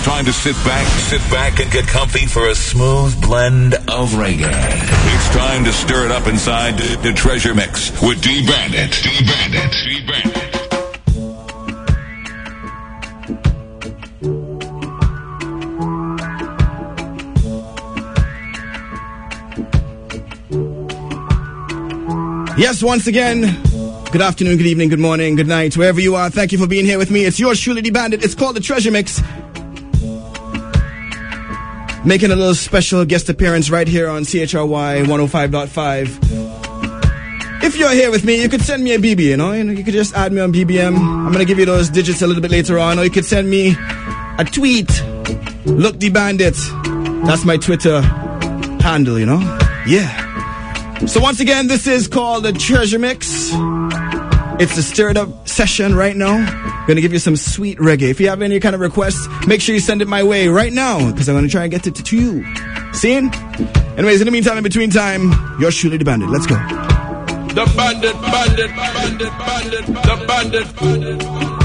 time to sit back and get comfy for a smooth blend of reggae. It's time to stir it up inside the Treasure Mix with D-Bandit. D-Bandit. D-Bandit. Yes, once again, good afternoon, good evening, good morning, good night, wherever you are. Thank you for being here with me. It's yours truly, D-Bandit. It's called the Treasure Mix. Making a little special guest appearance right here on CHRY 105.5. If you're here with me, you could send me a BB, you know, you could just add me on BBM. I'm going to give you those digits a little bit later on, or you could send me a tweet. Look, D-Bandit. That's my Twitter handle, you know? Yeah. So once again, this is called the Treasure Mix. It's a stirred up session right now. Gonna give you some sweet reggae. If you have any kind of requests, make sure you send it my way right now, because I'm gonna try and get it to you. Seen? Anyways, in the meantime, in between time, yours truly, the Bandit. Let's go. The Bandit, Bandit, Bandit, Bandit, the Bandit, Bandit.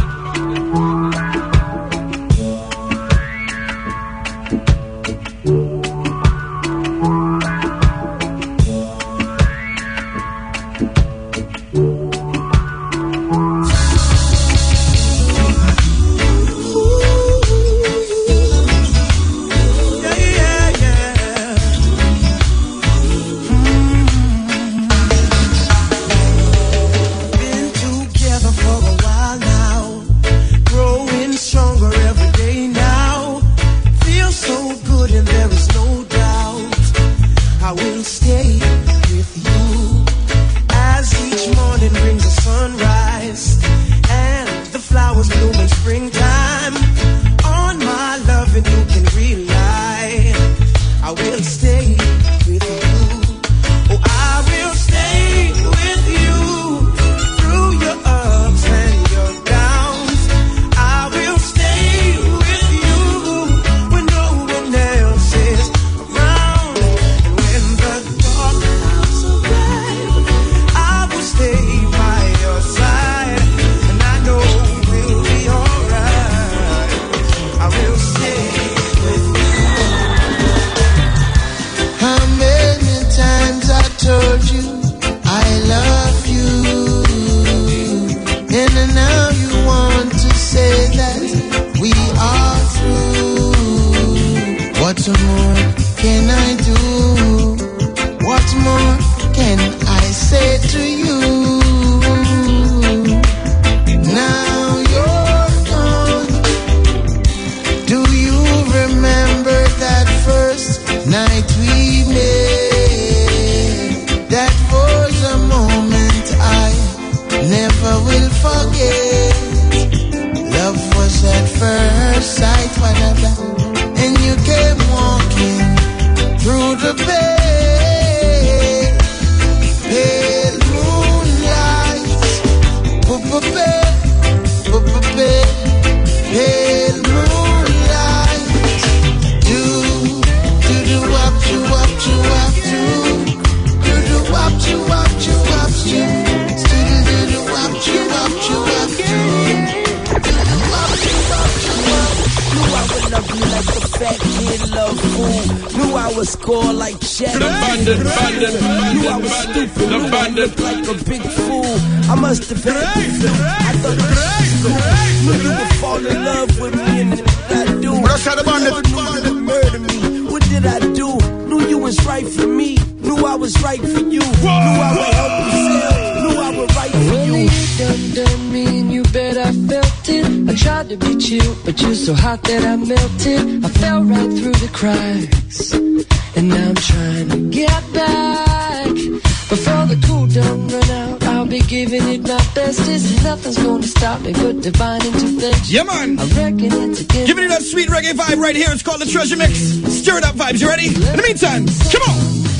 Yeah, man. Giving you that sweet reggae vibe right here. It's called the Treasure Mix. Stir it up vibes. You ready? In the meantime, come on.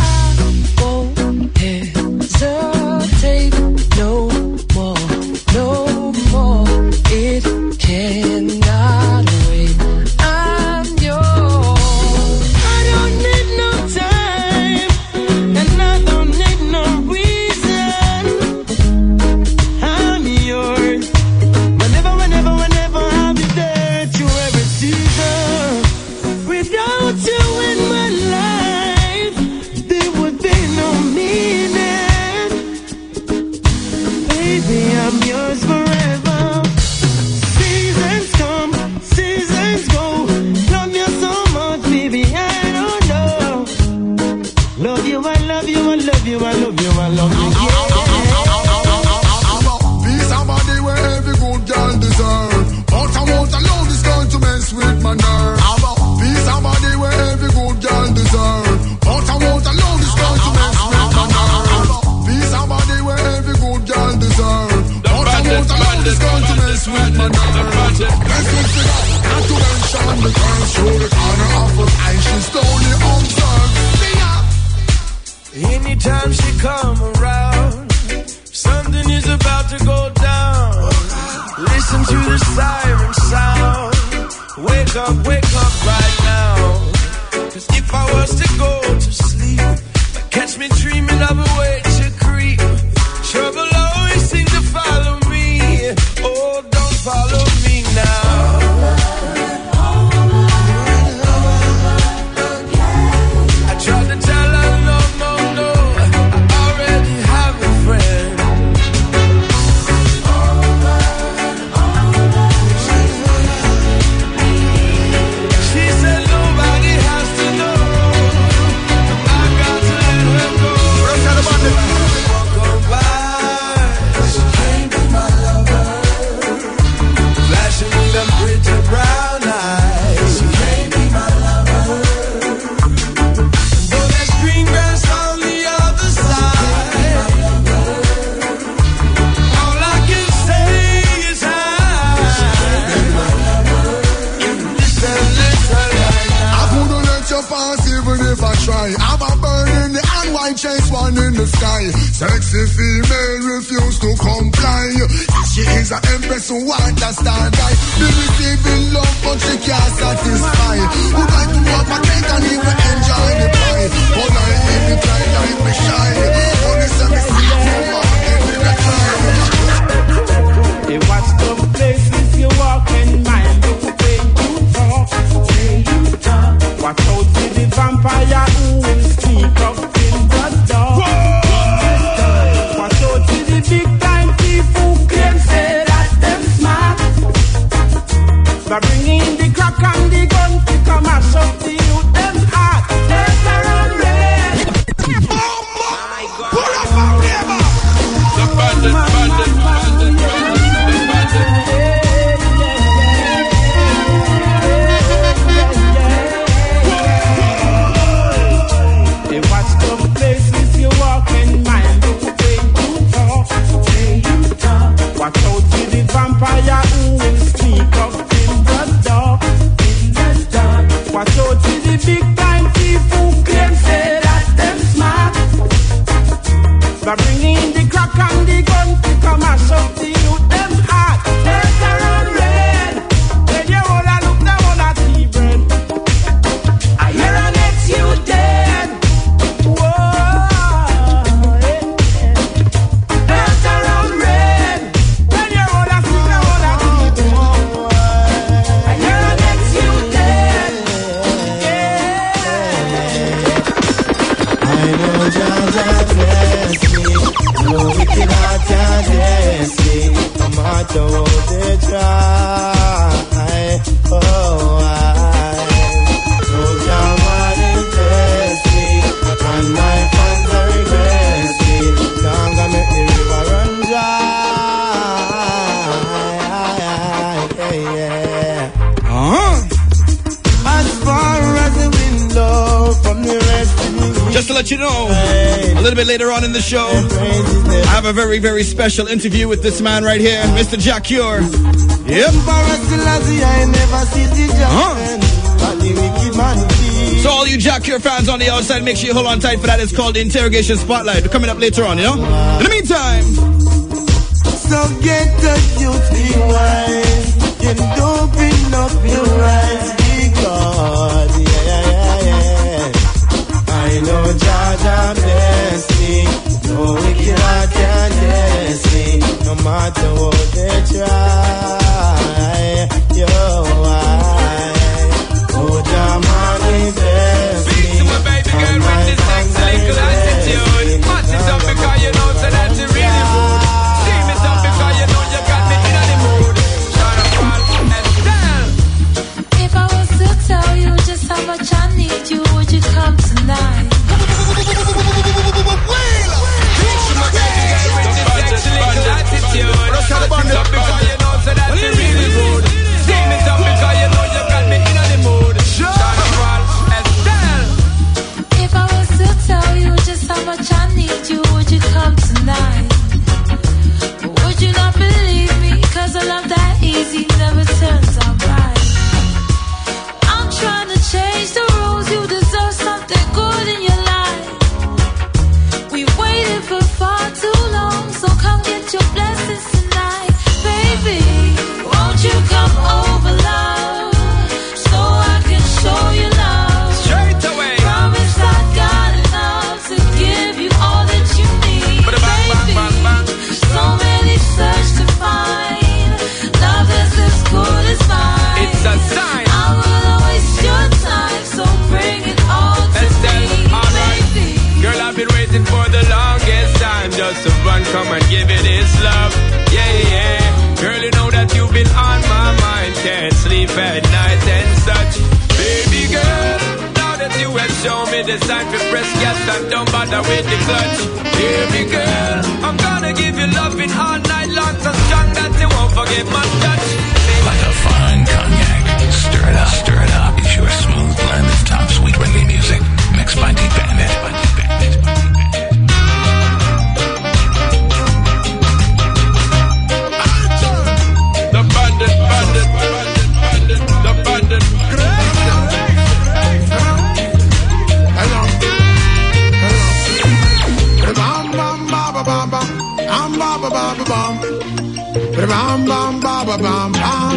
I won't hesitate no more, no more. It cannot wait. I'm yours. I don't need no time, and I don't need no reason. I'm yours. Whenever I'll be there through every season. It's going to mess with my nerves. Let's go figure out. Not to mention the girl through the corner of her eye. She's totally observed. Anytime she come around, something is about to go down. Listen to the siren sound. Wake up right now. 'Cause if I was to go to sleep, catch me dreaming of a way to creep. Trouble always seems to follow me. Oh, don't follow me now. I tried to tell her no, I already have a friend. She said nobody has to know. I got to let her go. Walk on by, she can't be my lover. Flashing them pretty brown eyes, she can't be my lover. Though there's green grass on the other side, all I can say is hi. Listen I couldn't let you pass even if I try. I'm a bird in the hand, white chase one in the sky. Sexy female refuse to comply. She is an empress who want a star guy. Be receiving love but she can't satisfy. Would like to have my cake and even enjoy the pie. But I leave it like me shy. Only say me see from morning in the time. Hey, watch the places you walk in, mind the way you talk. Watch out for the vampire who will sneak up in the dark. Watch out for the big time people who claim say that them smart. By bringing the crack and the gun to come and shut the youth them heart. Left around red. Pull up a river. The bandit. Hey, watch the places you walk in, mind the way you talk. Watch out for the vampire who will sneak up in the dark. Watch out for the big time people who claim say that them smart. By bringing the crack and the gun to come and shut the youth them heart. Left around red. When you all a look down on a tea bread, I hear an ex you dead. Whoa, left around red. When you all a look down on a tea bread, I hear an ex you dead. I know Jaja bless me. No wicked heart can bless me. No matter what they try. Oh, I know Jaja bless me. And my fans are regress me. Long I make the river run dry. As far as the window from the rest of me. Just to let you know, a little bit later on in the show, I have a very, very special interview with this man right here, Mr. Jack Cure. Yep. So all you Jack Cure fans on the outside, make sure you hold on tight for that. It's called the Interrogation Spotlight. We're coming up later on, you know? In the meantime, so get the youth be wise and open up your eyes because I know Jaja bless me. No wicked heart can bless me. No matter what they try. Yo, oh, Jamani bless me. Speak to my baby girl with this sexy little attitude. Match it up because you know so that's really rude. See me up because you know you got me in the mood. Shut up. it's time to press gas and don't bother with the clutch. Hear me, girl, I'm gonna give you loving all night long, so strong that you won't forget my touch. Like a fine cognac, stir it up, stir it up. It's your smooth blend of top sweet reggae music, mixed by D-Bandit. The bandit, bandit, bandit, bandit, the bandit. Bam bam ba ba bam bam, bam ba ba ba ba bam, bam bam ba ba bam bam.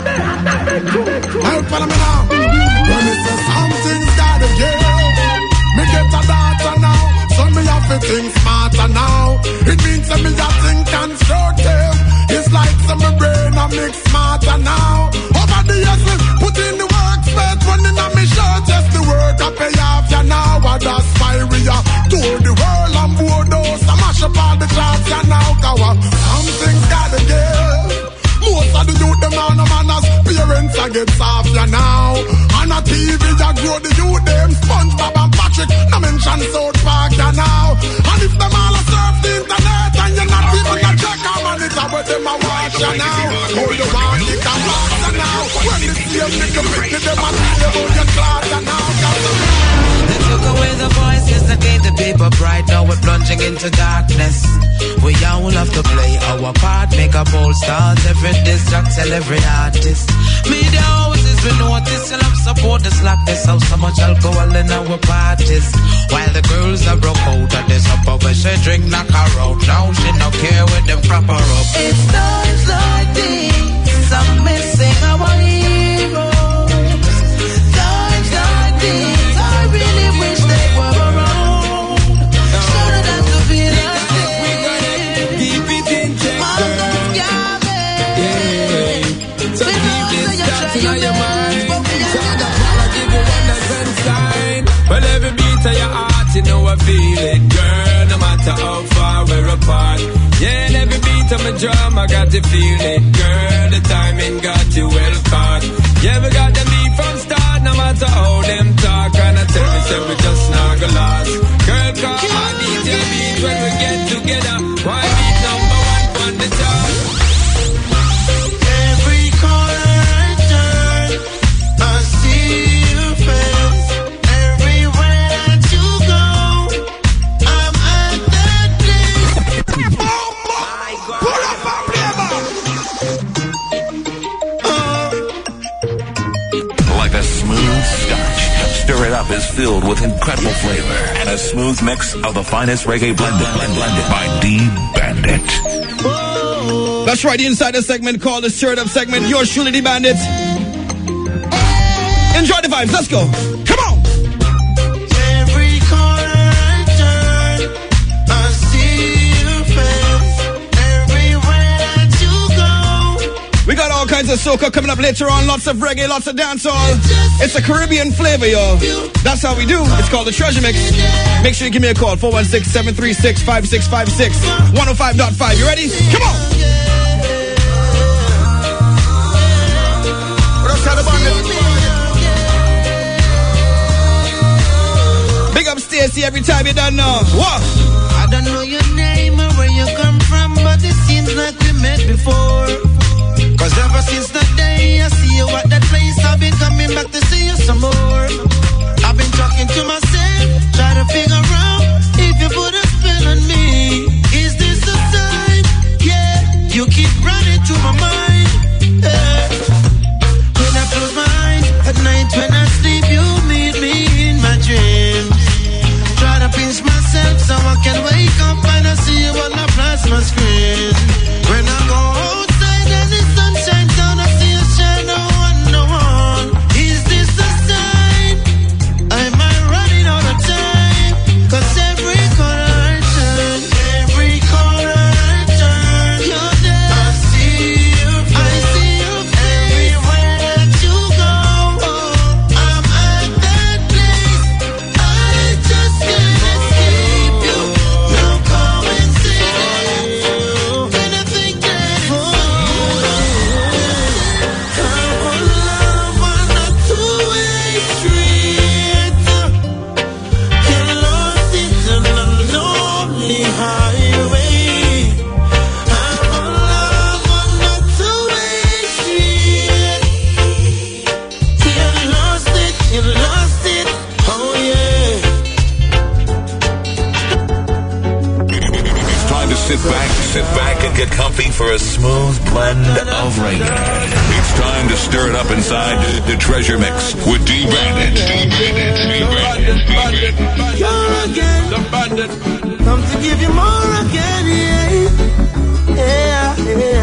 Hey, follow me now. When me say something's gotta give, me get a data now, so me have to think smarter now. It means that me have to think constructive. It's like some brain I make smarter now. Over the years we put in the work, spent running on me shirt, just the work I pay off ya now. And that's why we are tour the world and board those. I mash up all the charts ya now. Cause something's gotta give. Most of the youth them now no manners. Parents I get soft ya now. On a TV ya grow the youth them. SpongeBob and Patrick no mention South Park ya now. And if them all a surf the internet and you're not even a check out on it, but them a watch ya now. Oh you want it a watch ya now. When the same nigga pick them a see about your class ya now. They took away the voices that gave the people bright. Now we're plunging into darkness. We all have to play our part, make a bold start. Every distract, tell every artist. Media houses, we notice, and have support the slackness. How so much alcohol in our parties. While the girls are broke out of this upper where she drink, knock her out. Now she don't care when them crop her up. It's times like these, I'm missing our heroes. Times like these, I really wish they were around. Shouldn't have to be like this. We gotta keep it in check, girl. So keep this thoughts in your mind. So that's why I give you one and sign. Well, every beat of your heart, you know I feel it, girl. No matter how far we're apart. Yeah, and every beat of my drum, I got to feel it, girl. The timing got you well caught. Yeah, we got the beat from start, no matter how them talk. And I tell me, say we just not gonna last. Girl, call my DJ beat when we get together. Why beat number one on the top? Every corner I turn, I see your face. Everywhere that you go, I'm at that place. Pull up and play back. Like a smooth scotch, Stir It Up is filled with incredible flavor and a smooth mix of the finest reggae blended by D-Bandit. That's right, the insider segment called the Stir It Up segment. Yours truly, D-Bandit. Enjoy the vibes, let's go. Come on! Every corner I turn, I see your face. Everywhere that you go. We got all kinds of soca coming up later on. Lots of reggae, lots of dancehall. It's a Caribbean flavor, yo. That's how we do. It's called the Treasure Mix. Make sure you give me a call, 416-736-5656, 105.5. You ready? Come on! Big up Stacy every time you done know. What? I don't know your name or where you come from, but it seems like we met before. Cause ever since the day I see you at that place, I've been coming back to see you some more. I've been talking to myself, trying to figure out if you put a spell on me. Is this a sign? Yeah, you keep running through my mind. Yeah. When I close my eyes at night, when I sleep, you meet me in my dreams. Try to pinch myself so I can wake up and I see you on the plasma screen. When I go outside and the sun shines down, I see you for a smooth blend of reggae. It's time to stir it up inside the Treasure Mix with D-Bandit. You're again. The bandit. Come to give you more again, yeah.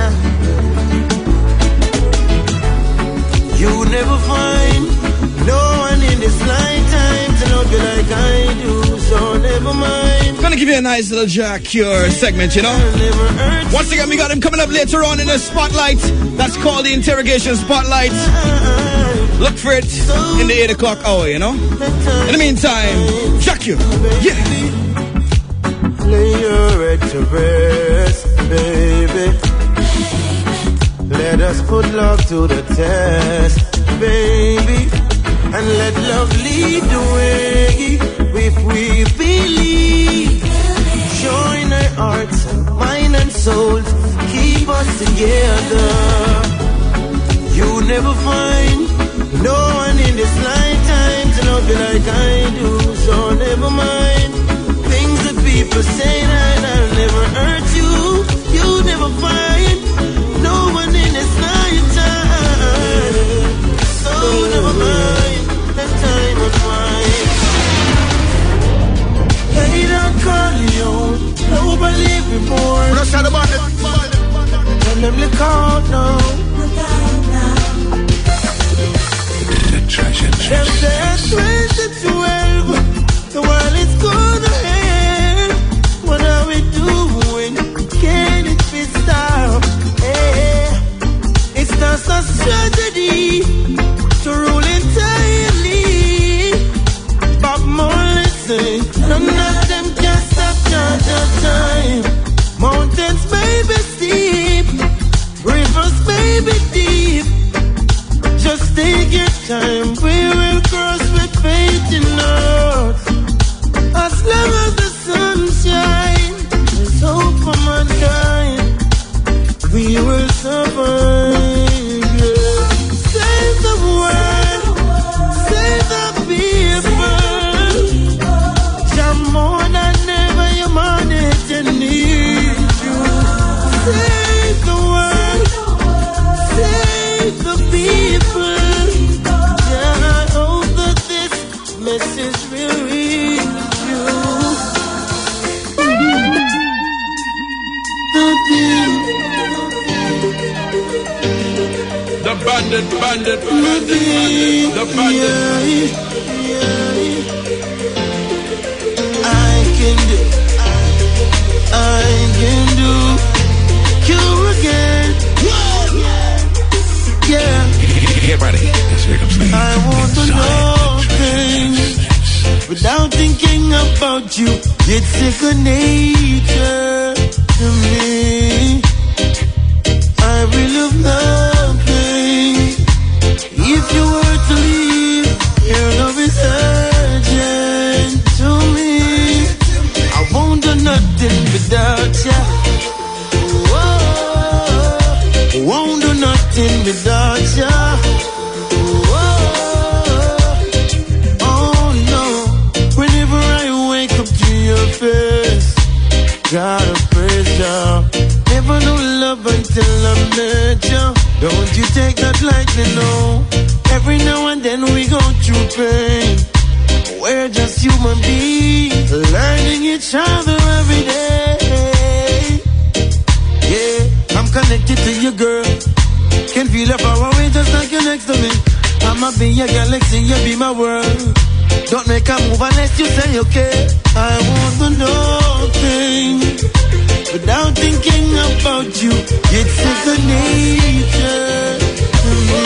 You never find no one in this lifetime to love you like I do, so never mind. Gonna give you a nice little Jack Cure segment, you know. Once again, we got him coming up later on in the Spotlight. That's called the Interrogation Spotlight. Look for it in the 8 o'clock hour, you know. In the meantime, Jack Cure, yeah. Lay your head to rest, baby. Let us put love to the test, baby. And let love lead the way. If we believe, join our hearts and mind and souls, keep us together. You never find no one in this lifetime to love you like I do, so never mind things that people say that I'll never hurt you. You never find no one in this lifetime, so never mind that time of mine. Hey, don't call you, nobody before. Tell them to call now. Them said 2012, the world is gonna end. What are we doing? Can it be stopped? Hey, it's just a strategy to rule entirely. But more listen, none of them can stop your time. Mountains may be steep, rivers may be deep. Just take your time, we will cross with faith in us. As long as the sun shines, there's hope for mankind. We will survive, yeah. Save the world, save the people. You're more than ever humanity needs you. Save the world, save the people. Yeah, I hope that this message will reach you. The bandit. The bandit. I can do cure again. Yeah. Get ready. Here comes the I want to know things without thinking about you. It's second nature to me. I will love nothing if you were to leave. Your love is urgent to me. I won't do nothing without you. Whoa. Won't do nothing without you. Gotta praise you. Never knew love until I met you. Don't you take that lightly, no. Every now and then we go through pain. We're just human beings, learning each other every day. Yeah, I'm connected to you, girl. Can feel it far away just like you're next to me. I'ma be your galaxy, you be my world. Don't make a move unless you say okay. I want to know things without thinking about you. It's second nature to me.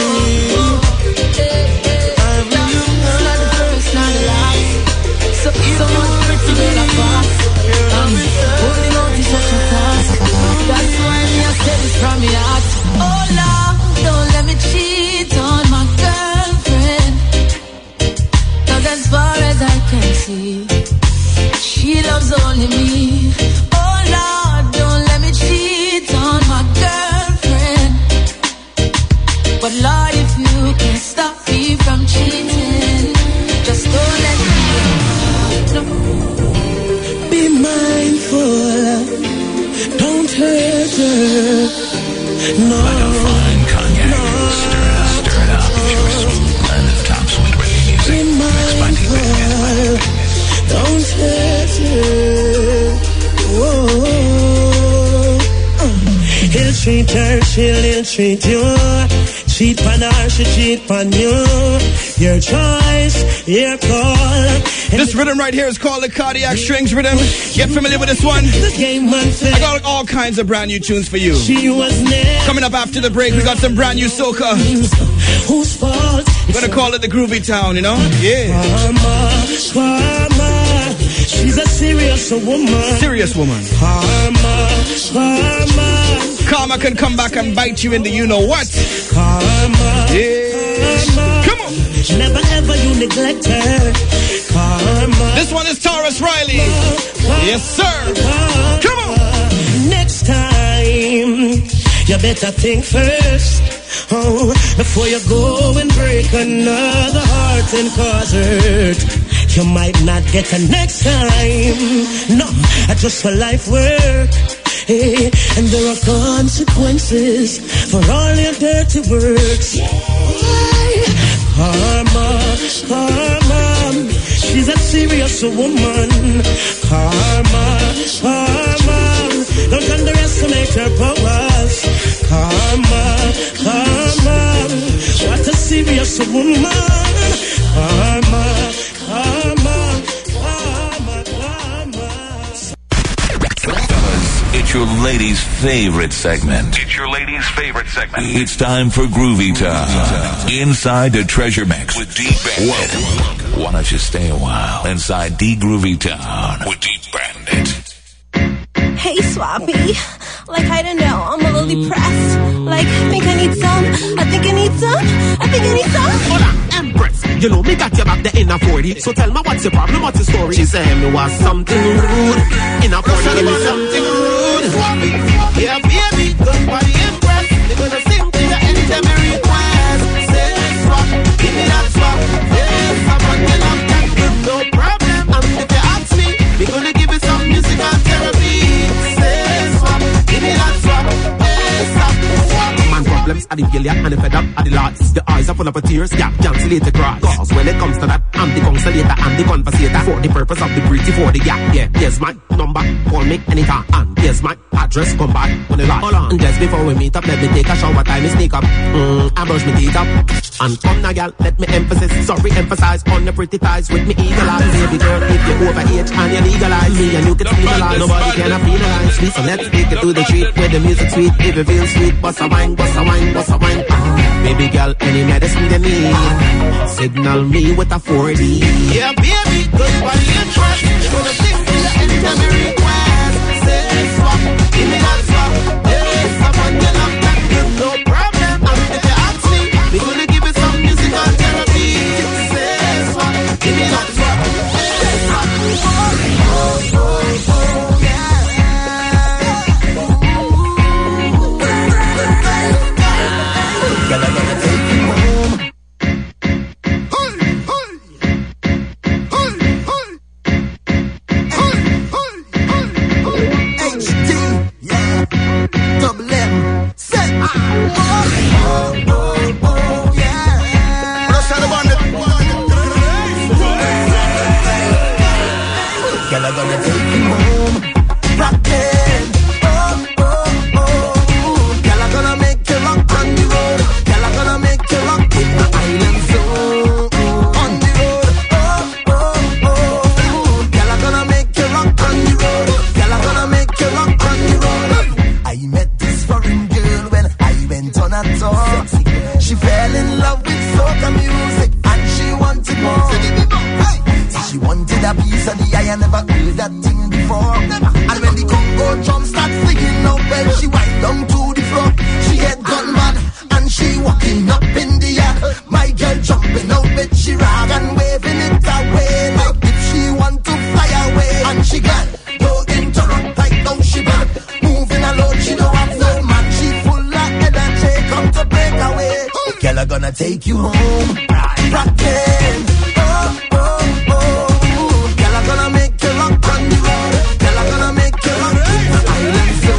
I really It's not the first, not the last. So much pretty girl apart. Holding on to such a task. That's why me I said this from my heart. Oh Lord, don't let me cheat on my girlfriend. As far as I can see, she loves only me. Oh Lord, don't let me cheat on my girlfriend. But Lord, if you can stop me from cheating, just don't let me go. be mindful don't hurt her. No. Like a fine cognac. No. Stir it up. It's your smooth blend of top sweet reggae music. Mixed by D-Bandit. Don't hurt her. Whoa. He'll treat her, she'll treat you. Cheat on her, she cheat on you. Your choice, your call. This rhythm right here is called the Cardiac Strings rhythm. Get familiar with this one? I got all kinds of brand new tunes for you. Coming up after the break, we got some brand new soca. Whose fault? We're gonna call it the Groovy Town, you know? Yeah. Karma, she's a serious woman. Serious woman. Karma can come back and bite you in the you-know-what. Karma, yeah. Come on. Never ever you neglect her. Karma. This one is Taurus Riley. Yes, sir. Come on. Next time, you better think first. Oh, before you go and break another heart and cause hurt. You might not get a next time. No, just for life work. Hey, and there are consequences for all your dirty works. Karma, she's a serious woman. Karma, don't underestimate her powers. Karma, what a serious woman. Karma. It's your lady's favorite segment. It's time for Groovy Time. Inside the Treasure Mix with D-Bandit. Why don't you stay a while inside D Groovy Town with D-Bandit. Hey, Swappy. Like, I don't know, I'm a little depressed. Like, I think I need some. Hold on, Empress. You know me got your back there in a 40. So tell me what's your problem, what's the story? She said me was something rude. In a 40, give me something rude. Yeah, baby, good body Empress. They're gonna sing to you anytime you request. Say swap, give me that swap. Yeah, someone you love that good, no problem. And if you ask me, we're gonna give you some musical therapy. Say swap, give me that swap. Yeah, swap. Man problems are the failure and the fed up are the lots. The eyes are full of tears, yeah, cancellate the cross. Cause when it comes to that, I'm the consolator and the conversator. For the purpose of the pretty, for the gap, yeah. Here's my number, call me anytime. And here's my address, come back when the lot. Hold on, and just before we meet up, let me take a shower, time is sneak up. I brush my teeth up. And come now, gal, let me emphasize on the pretty thighs with me eagle eyes. Baby girl, if you're over age and you legalize me and you can feel alive, nobody can penalize me. So let's take it to the street where the music sweet. If it feels sweet, bust a wine, bust a wine, bust a wine. Baby girl, any medicine they need, signal me with a 40. Yeah, baby, good body and trust. Gonna sing to you anytime you request. Say swap, give me that swap. Hey, someone you love that good, no problem. And if you ask me, we gonna give it some musical therapy. Say swap, give me that swap. Hey, swap. Girl, I'm gonna take you home. HD, yeah, double M, set. Yeah. Let's have a bandit. Girl, I'm gonna take you home. Rockin'. Girl, I'm gonna make you rock on the road. Girl, I'm gonna make you rock in the island zone. On the road. Girl, I'm gonna make you rock on the road. Girl, I'm gonna make you rock on the road. I met this foreign girl when I went on a tour. She fell in love with soca music and she wanted more. So she wanted a piece of the eye. I never heard that thing before. And when the Congo drum starts singing out, well, she wind down to the floor. She had gone mad and she walking up in the air. My girl jumping out with she rag and waving it away like if she want to fly away. And she got no interrupt like now she back. Moving alone, she don't have no man. She full of energy, come to break away. Girl, I'm gonna take you home. Rockin'. Girl, I'm gonna make you rock on the road. Girl, I'm gonna make you rock in the island zone.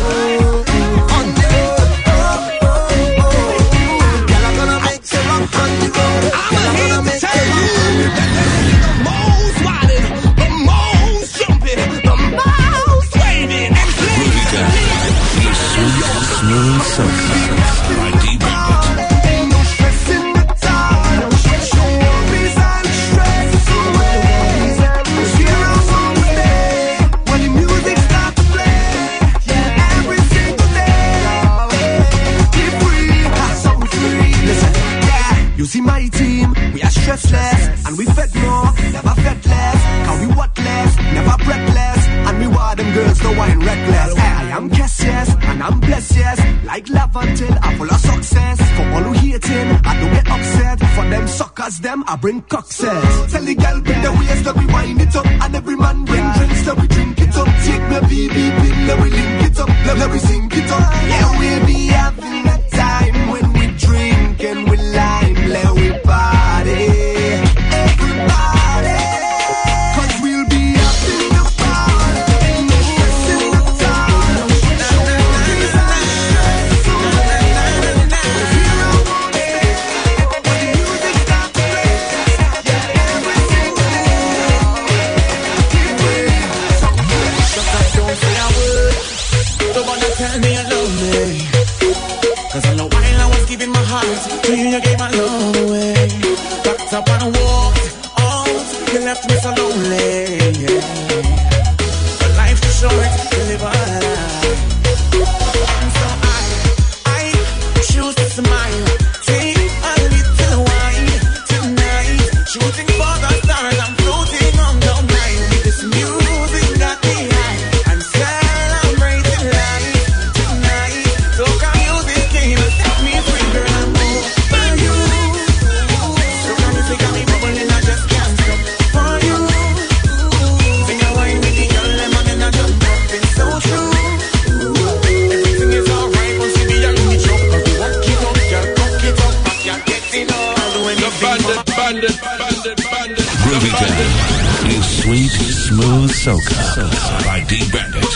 see my team, we are stressless, and we fed more, never fed less. Cause we what less, never breathless, and we were them girls, no wine reckless. I am Cassius, and I'm blessed, yes, like love until I'm full of success. For all who hating, I don't get upset. For them suckers, them I bring cocktails. Tell the girl bring the waist, that we wind it up, and every man bring drinks, that we drink it up. Take me BB pin, let we link it up, let we sink it up. Yeah, we'll be having a time when we drink and we lime, let we party, everybody. Cause we'll be having a party, ain't no stress in the town. No stress, no worries, no stress. So here I wanna stay, when the music starts to play. Yeah, everything we shut up, don't say a word. Don't wanna tell me you love me. Cause all the while I was giving my heart to you, you gave my love away. Backed up and walked out, you left me so lonely, yeah. But life's too short to live a life. So I choose to smile. Take a little wine tonight. Shooting for the stars, I'm floating on the night. This music got me high. I'm celebrating life tonight. So come music came and set me free, girl, I'm over you. So come music got me bubbling, I just can't stop for you. Sing a wine with the girl, them and I jump up, it's so true. Everything is alright once you be a reach up. Cause we walk it up, girl, cock it up, I can't get enough. I'll do anything for Bandit. Groovy Town is Sweet Smooth Soca by D Bandit.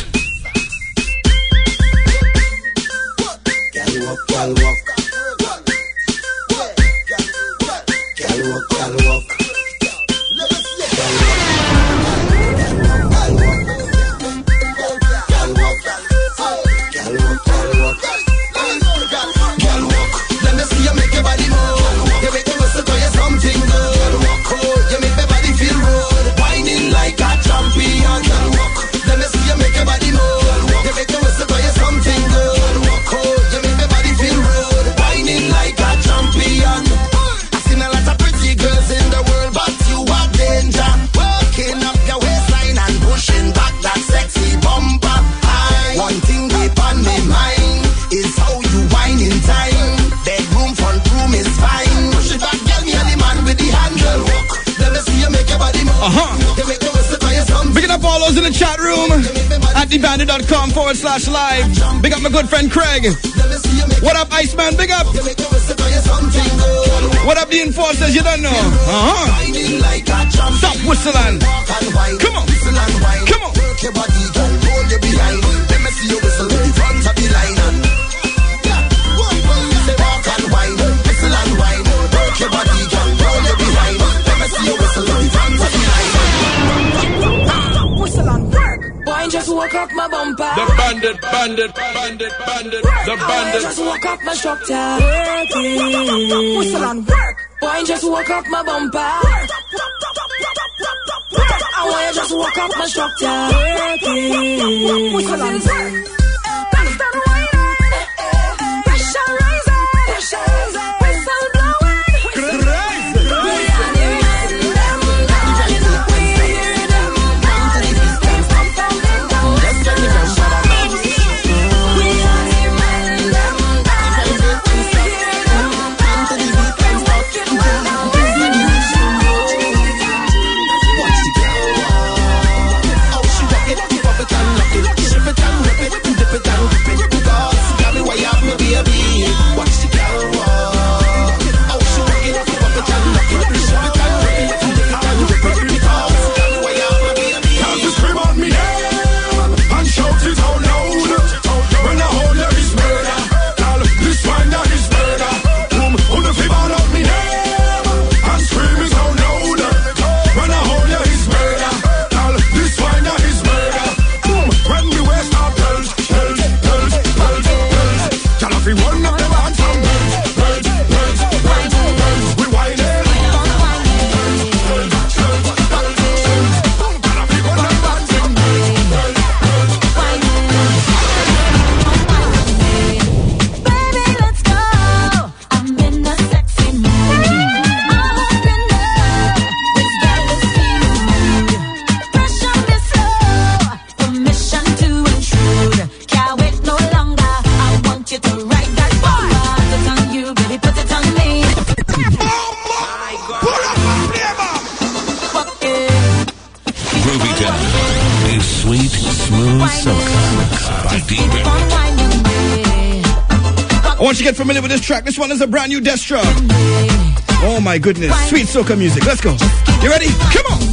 Gal walk, gal walk. Gal walk, gal walk. Let me see you make your body move. You make me whistle to you something good. Oh, you make my body feel good. Whining like a champion. Let me see you make your body move. You make me whistle to you something good. Oh, you make my body feel good. Whining like a champion. I seen a lot of pretty girls in the world, but you are danger. Working up your waistline and pushing back that sexy bumper. One thing deep on my mind is how you whine in time. Bedroom, front room is fine. Push it back, girl, me and the man with the handle. Let me see you make your body move. You make me whistle for your something. Big up all those in the chat room at thebandit.com/live. Big up my good friend Craig. What up, Iceman? Big up. What up, the enforcers? You don't know. Stop whistling. Come on. Come on. Work your body, girl, hold you behind. Let me see you whistle in front of the line. Say walk and wine, whistle and wine. Work your body, girl, hold you behind. Let me see you whistle in front of the line. Whistle and work. Boy, just woke up my bumper. The bandit. The bandit. Just woke up my structure. Working. Whistle and work. Boy, just woke up my bumper. I want you just woke up my structure. Working. Whistle and work. Constant whining. Pressure rising. Whistle blowing. We are the men, them guys. We hear them guys. They pump and they go. We are the men, them guys. We hear them guys. They walking well now. Watch the girl. Oh, she rock it, keep up it and lock it. Shift it and rip it. I want you to get familiar with this track. This one is a brand new Destra. Oh my goodness. Sweet soca music. Let's go. You ready? Come on.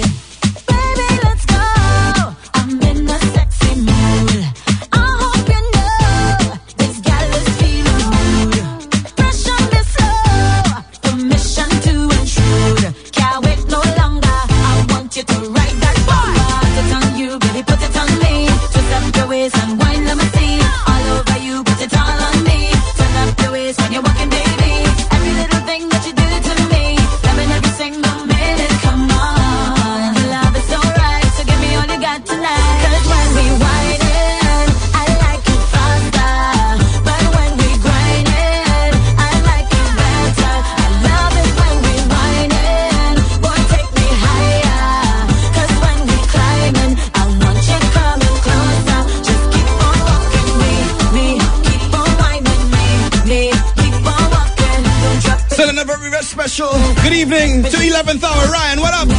Good evening to 11th hour. Ryan, what up?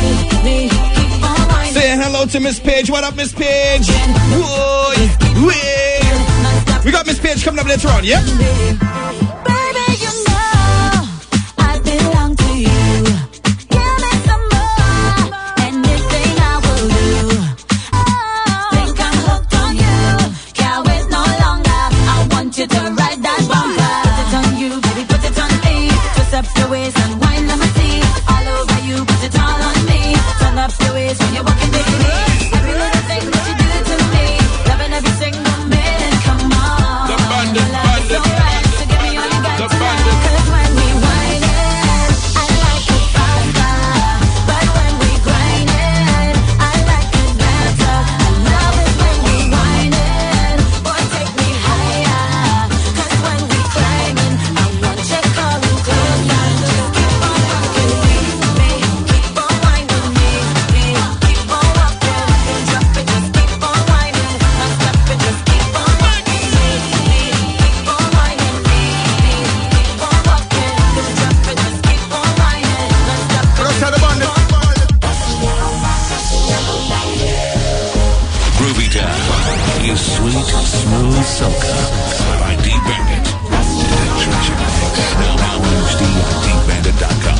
Saying hello to Miss Page. What up, Miss Page? Whoa, we got Miss Page coming up later on, yeah? Baby, you know I belong to you. Give me some more, anything I will do. Think I'm hooked on you. Can't wait no longer. I want you to ride that bumper. Put it on you, baby, put it on me. Twist up your waist and wine, let me see. All over you, put it all on me. Turn up your waist when you're walking, baby. Every little thing that you do to me, loving every single minute. Come on, the bandit, bandit, right, so give me all you got tonight. 'Cause when we whine it, I like it faster. But when we grind it, I like it better. I love it when we whine it, boy, take me higher. 'Cause when we climbing, I want you coming closer. Just keep on rocking me, keep on whining me, keep on walking. Drop it, just keep on whining. Now stop it, just keep on whining me, keep on whining me, keep on walking. Drop it, just keep on whining. Now stop it, just keep on whining. Groovy Town is sweet, smooth soca by D-Bandit. Treasure Mix. Now HD at DBandit.com.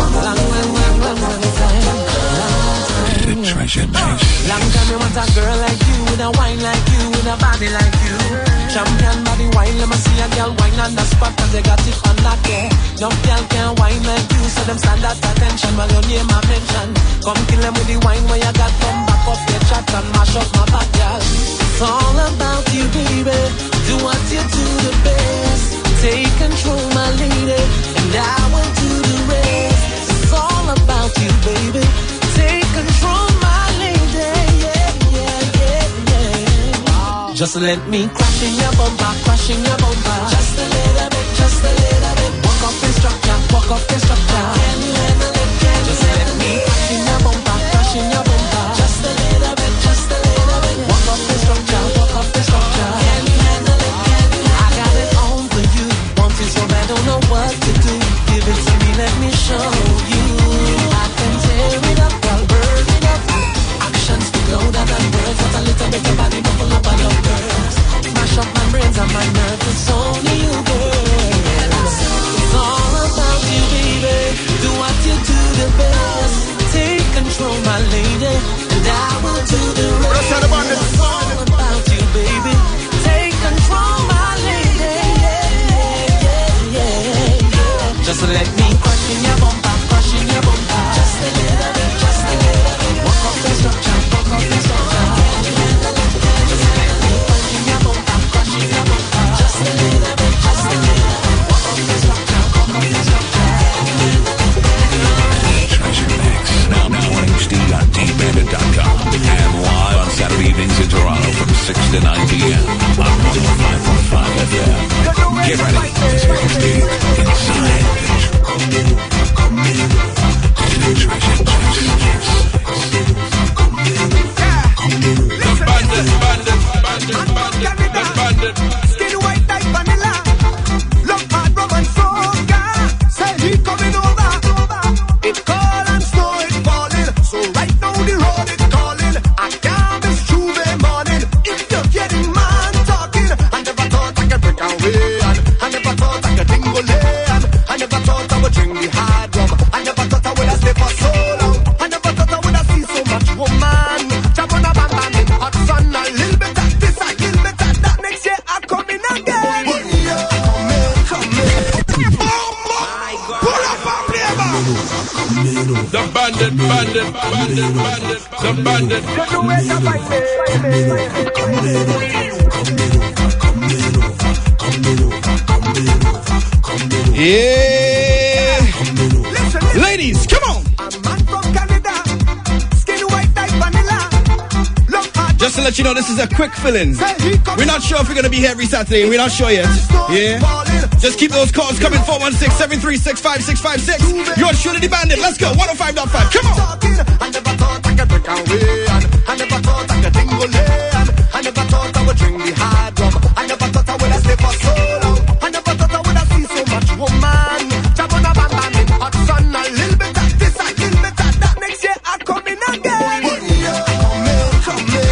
Treasure Mix. Long time you want a girl like you, with a wine like you, with a body like you. Champion body wine, let me see a girl wine on the spot, 'cause they got it on that day. No girl can wine like you, so them stand at attention while your name I mention. Come kill them with the wine where you got, come back up your chat and mash up my back, girl. It's all about you, baby. Do what you do the best. Take control, my lady, and I will do the rest. It's all about you, baby. Take control, my lady, yeah, yeah, yeah, yeah. Just let me crash in your bumper, crash in your bumper. Just a little bit, just a little bit. Walk up the structure, walk up the structure. Can you handle it? Just let me crash in your bumper, crash in your bumper. Just a little bit, just a little bit. Walk up the structure, walk up the structure. Can you handle it? I got it on for you. Want it so bad, don't know what to do. Give it to me, let me show you. I can tear it up, I'll burn it up. Actions speak louder than words. What a little bit of body, buckle up on your girls. Mash up my brains and my nerves. It's only you, girl. It's all about you, baby. Do what you do the best. Take control, my lady, and I will do the rest. It's all about you, baby. Take control, my lady. Yeah, yeah, yeah, yeah. Just let me crush in your bumper, crush in your bumper. Just a little bit, just a little bit. Walk up the structure, walk up the structure. Just let me crush in your bumper, crush in your bumper. Just a little bit, just a little bit. Walk up the structure, walk up the structure. Treasure Mix. Now HD on DBandit.com. And live on Saturday The bandit, the bandit. Yeah. Ladies, come on. Just to let you know, this is a quick fill-in. We're not sure if we're going to be here every Saturday. We're not sure yet. Yeah? Just keep those calls coming. 416-736-5656. You're surely the bandit. Let's go. 105.5. Come on. I never thought I could break away. I never thought I could dingle in. I never thought I would drink the hard rum. I never thought I would have stayed for so long. I never thought I would have seen so much woman. Jump on a bam bam in hot sun. A little bit of this, a little bit of that. Next year I come in again. Come in.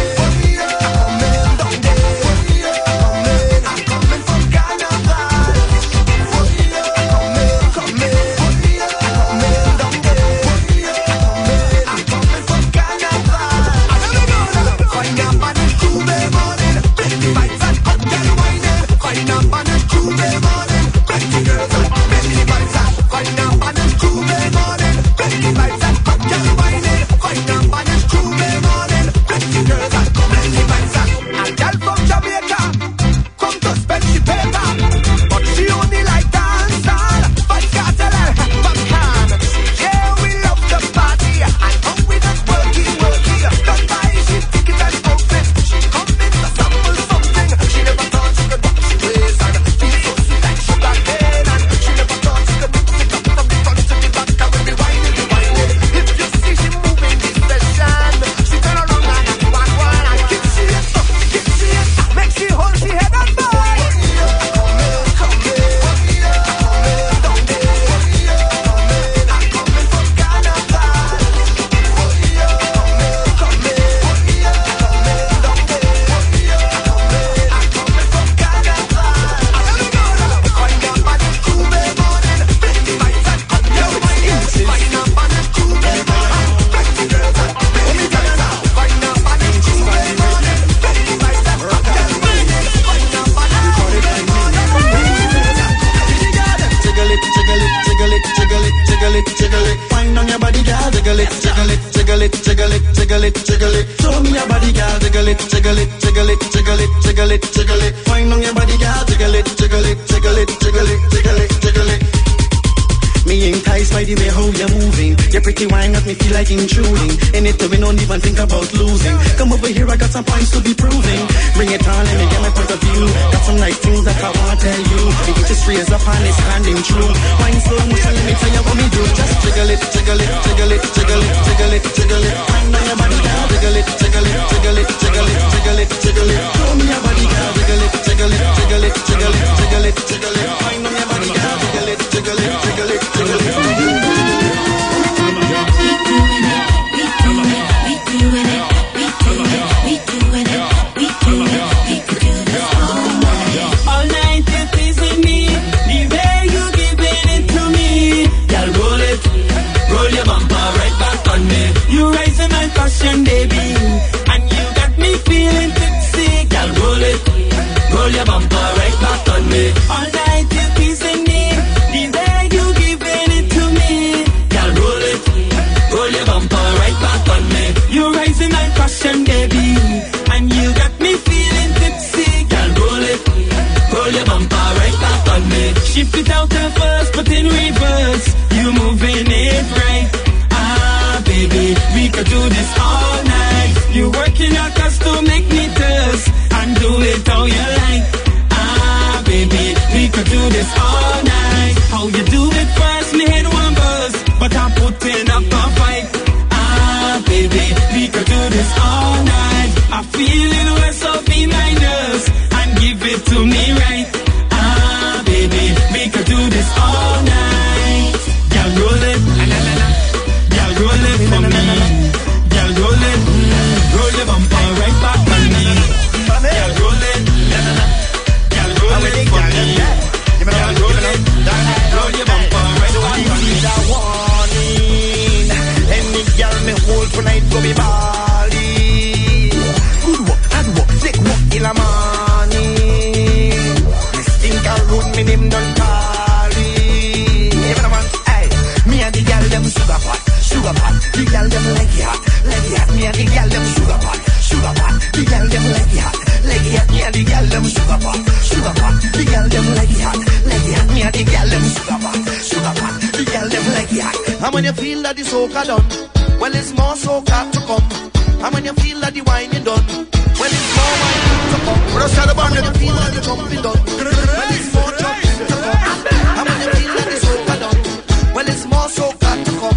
The girl them leggy hot. Me and the girl them sugar pot. The girl them leggy hot. Me and the girl them sugar pot. The girl them leggy hot. Me and the girl them sugar pot. The girl them leggy hot. And when you feel that the soca done, well it's more soca to come. And when you feel that the wine is done, well it's more wine to come. When you feel that the jumping done, well it's more jumping to come. And when you feel that the soca done, well it's more soca to come.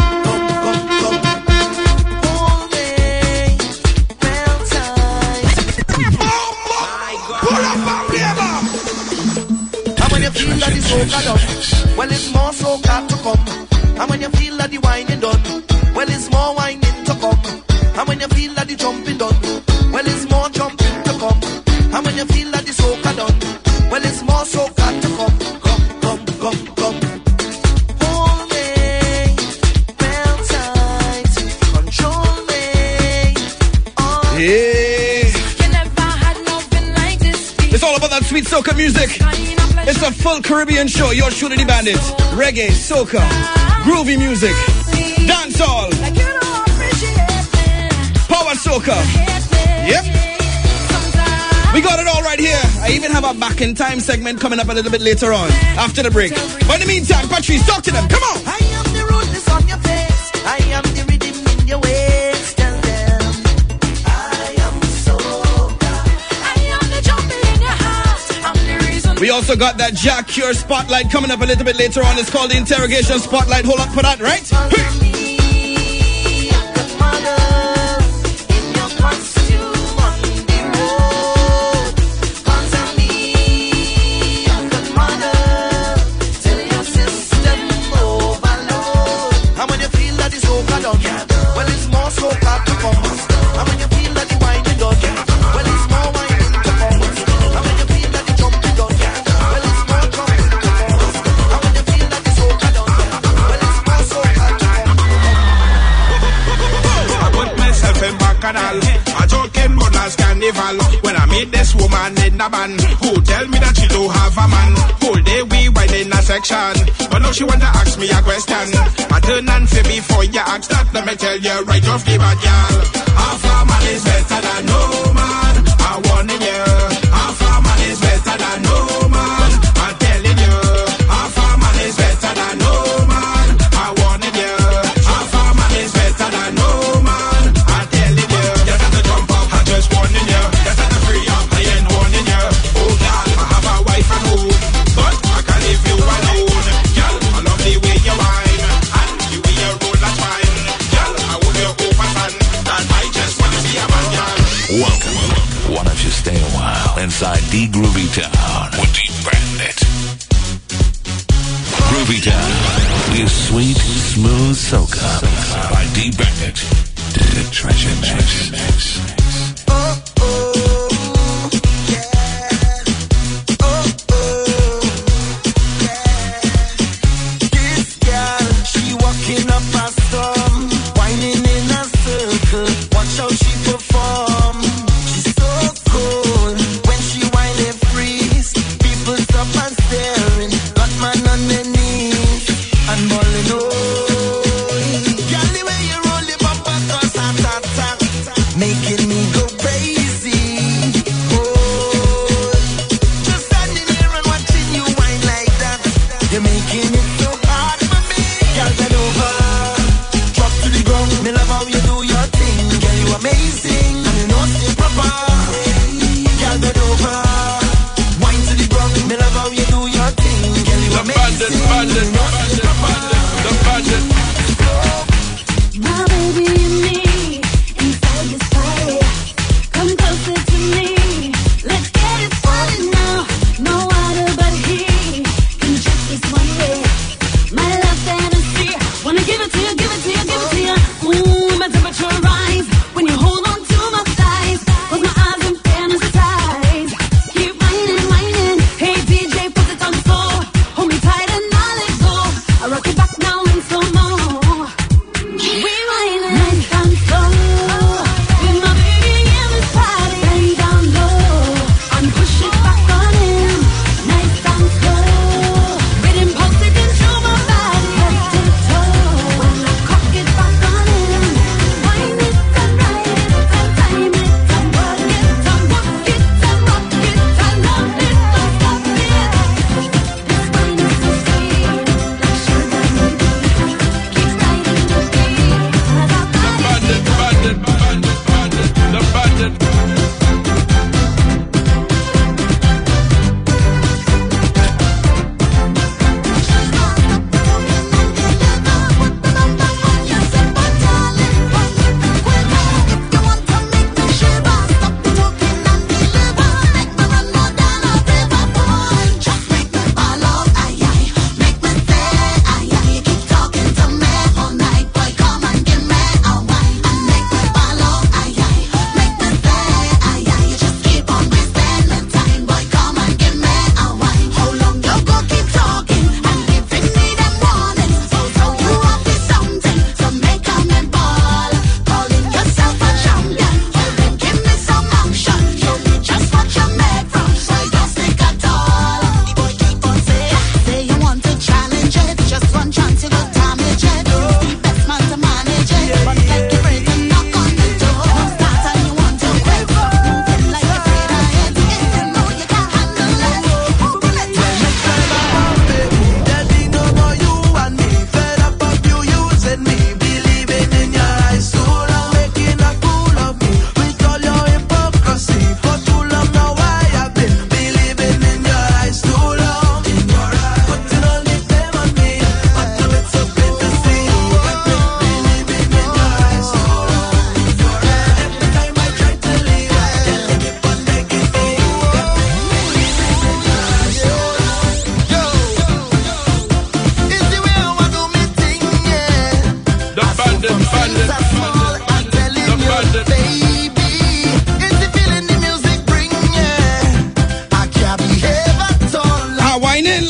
Feel that the soca done, well it's more soca to come. And when you feel that the wine is done, well it's more whining to come. And when you feel that the jumping done, well it's more jumping to come. And when you feel that the soca done, well it's more soca to come. Come. Hold me, well tight, control me. Yeah. You never had nothing like this. It's all about that sweet soca music. It's a full Caribbean show. You're shooting the bandits. Reggae, soca, groovy music, dancehall, power soca. Yep. We got it all right here. I even have a back in time segment coming up a little bit later on after the break. But in the meantime, Patrice, talk to them. Come on. I am the rootness on your face. I am the rhythm in your ways. Tell them I am soca. I am the jumping in your heart. I'm the reason. We also got that Jack Cure Spotlight coming up a little bit later on. It's called the Interrogation Spotlight. Hold up for that, right? A joking mother's carnival. When I meet this woman in the band, who tell me that she don't have a man. Whole day we wine in a section, but now she want to ask me a question. I turn and say before you ask that, let me tell you right off the bat, y'all. Half a man is better than no man. I warning you. Half a man is better than no man. I'm telling you. Half a man is better than no man. I warning you. Half a man is better than no man. Welcome. Why don't you stay a while inside D Groovy Town with D Bandit? Groovy Town is sweet, smooth soca by D Bandit. The Treasure Mix. This girl, she walking up a storm, whining in a circle. Watch how she perform. She's so cool when she whine and freeze. People stop and staring. Got man on their knees and bawling. Oh, girl, the way you roll the bumper, cause I'm making me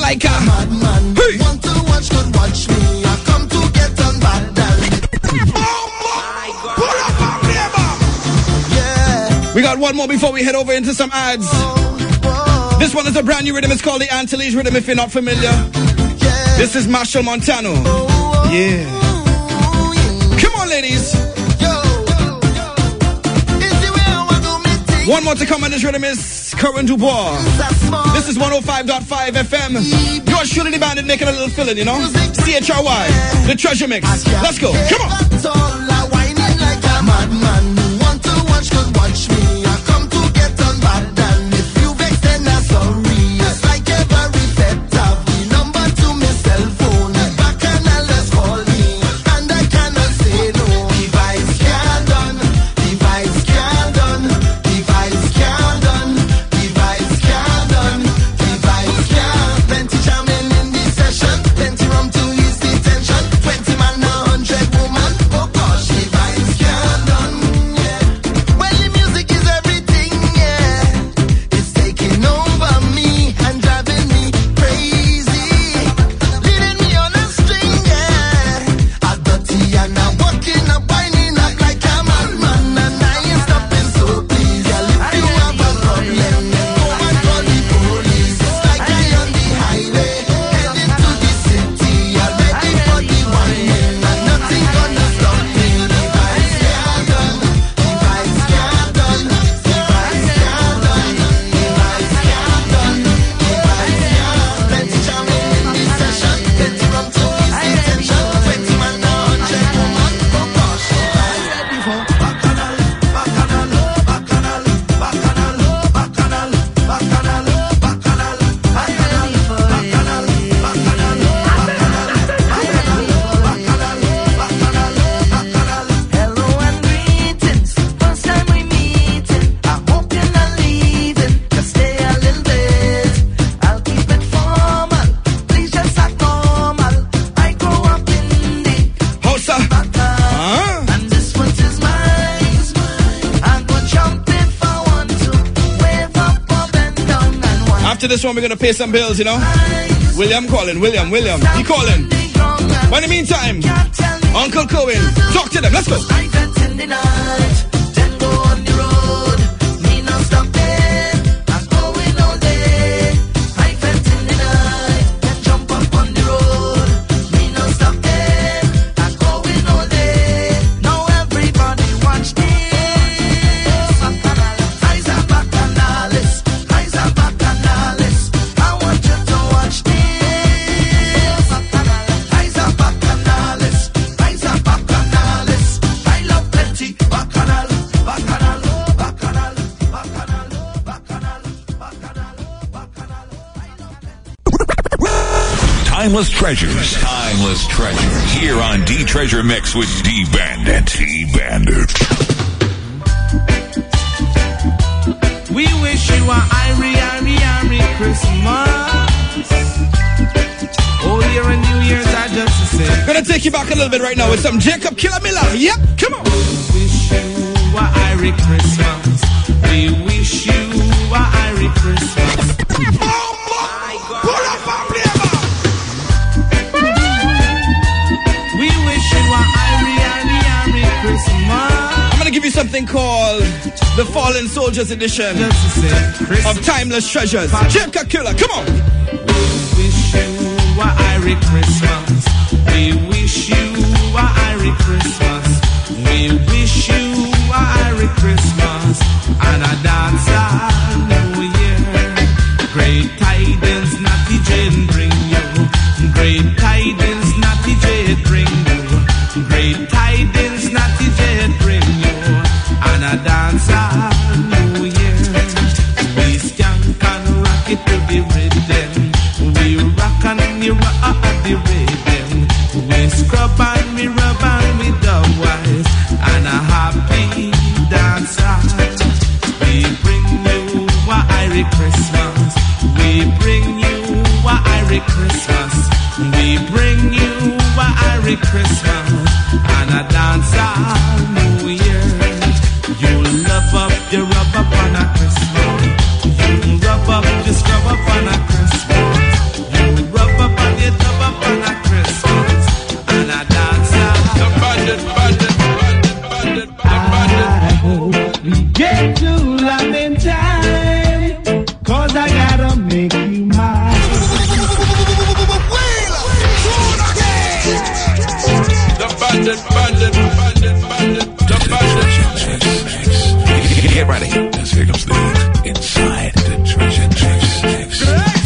like a madman. Want to watch, could watch me. I come to get on bad. We got one more before we head over into some ads. This one is a brand new rhythm. It's called the Antilles rhythm if you're not familiar. This is Marshall Montano. Yeah. Come on, ladies. One more to come on this rhythm is Corinne Dubois. This is 105.5 FM. You're surely the bandit making a little fill-in, you know? CHRY, the Treasure Mix. Let's go. Come on. Want to watch, could watch me. I come to get on bad. And if you vex, then I'm sorry. It's like every pet have the number to my cell phone. Back and let's call me. And I cannot say no. Device can't done. Device can't done. Device can't done. Device can't done. Device can't. Plenty jamming in the session. Plenty rum to ease the tension. 20 man, 100 woman. Oh gosh, device can't done. Well, the music is everything, yeah. It's taking over me and driving me crazy. Leading me on a string, yeah. I'm dirty and I'm walking up, winding up like a madman. And I ain't stopping, so please, yeah, if you have a problem, go and call the police. It's like I on the highway, heading to the city. I'm ready for the wine, and nothing gonna stop me. Device can't done. Device can't done. Device can't done. Device can't done. Device can't. Plenty jamming in the session. Plenty rum to ease the tension. 20 man, 100 woman. Oh gosh, device ready for bacchanal, bacchanal, bacchanal, bacchanal, bacchanal, bacchanal, bacchanal, bacchanal, Hello and greetings, first time we meeting. I hope you're not leaving, just stay a little bit. I'll keep it formal, please just act normal. I grow up in the Hosa. and this one is mine. I'm gonna jump if I want to, wave up or bend down and one. After this one, we're going to pay some bills, you know? William calling. William. He calling. But in the meantime, Uncle Cohen, talk to them. Let's go. I felt in the night, then go on the road. Me no stop there, I'm going all day. I felt in the night, then jump up on the road. Me no stop there, I'm going all day. Now everybody watch this. Eyes are bacchanales, eyes are bacchanales. I want you to watch this. Eyes are bacchanales, eyes are bacchanales. I love plenty bacchanal, bacchanal, bacchanal, bacchanal, bacchanal, bacchanal, bacchanal. Timeless treasures. Timeless treasures. Here on D Treasure Mix with D Bandit. D Bandit. We wish you a Irie Christmas. Old Year and New Year's are just the same. Gonna take you back a little bit right now with some Jacob Killer Miller. Yep, come on. We wish you a Irie Christmas. We wish you a Irie Christmas. Pull up and play back. We wish you a Irie Christmas. I'm gonna give you something called the Fallen Soldiers Edition Just the same. Christmas. of Timeless Treasures. Jacob Killer, come on. Wish you a Irie Christmas. We wish you a Irie Christmas. We wish you a Irie Christmas and a dance all New Year. Great tidings, Natty Jane bring you. Great tidings, Natty Jane bring you. Great tidings, Natty Jane bring you and a dance all New Year. We skank and rock it to the rhythm. We rock and we rock the rhythm. We scrub and we rub and we dub wise and a happy dance. We bring you a Irie Christmas. We bring you a Irie Christmas. We bring you a Irie Christmas and a dance all New Year. You love up, you rub up on a Christmas. You rub up, you scrub up on a Christmas. You Get ready, as here comes the heat inside the treasure mix.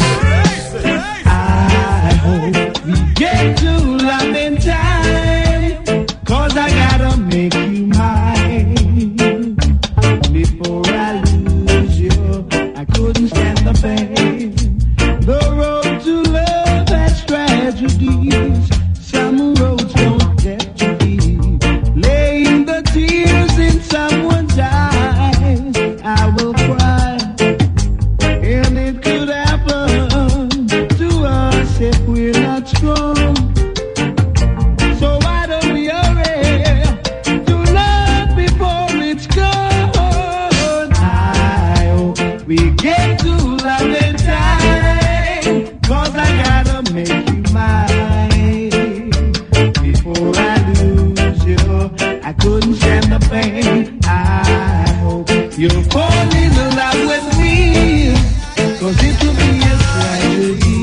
I hope we get to love in time, 'cause I gotta make you mine. Before I lose you, I couldn't stand the pain. The road to love has tragedies. Some roads don't get to be. Laying the tears in someone's eyes, I will cry. And it could happen to us if we're not strong. So why don't we hurry to love before it's gone? I hope we get to love in time, 'cause I gotta make you mine. Before I lose you, I couldn't stand the pain. I hope you'll fall in love with me, 'cause it will be a tragedy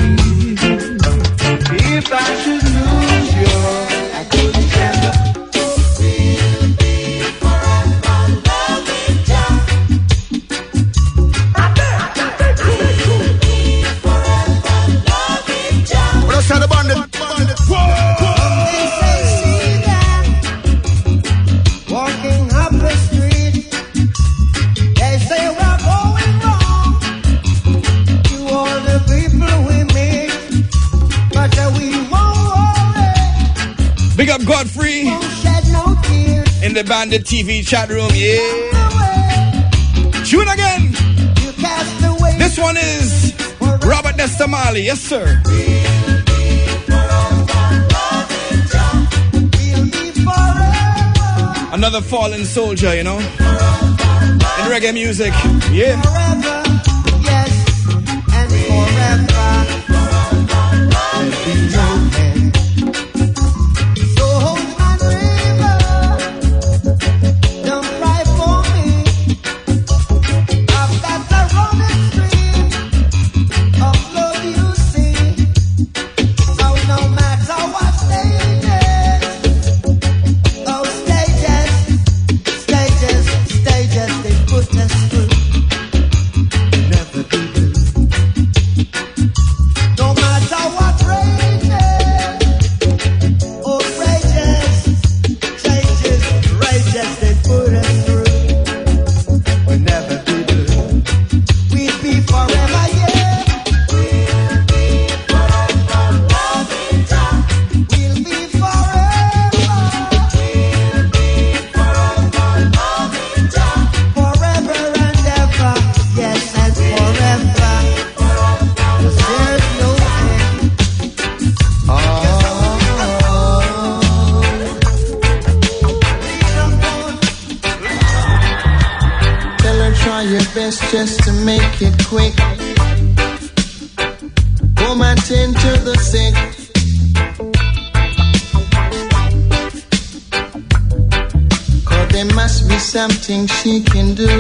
if I should lose you. I couldn't stand the Let's have the bandit. Walking up the street, they say we're going wrong to all the people we meet, but we won't worry, Big up Godfrey won't shed no tears. in the Bandit TV chat room, yeah. Tune again. You cast away. This one is Robert Nestamali, yes sir. Another fallen soldier, you know, in reggae music, yeah. Forever, yes, and forever. There'll be no end. So hold my river, don't cry for me. I've got the running stream of love you see. So no matter what stages, those stages, they put us through. Never be blue. No matter what rages, oh rages, changes, rages, they put us through. We'll never be blue. We'll be forever, yeah. We'll be forever loving Jah. We'll be forever. We'll be forever loving Jah. Forever and ever, yes, and forever. 'Cause there's no end. Tell her try your best just to make it quick. Come and tend to the sick. Cause there must be something she can do.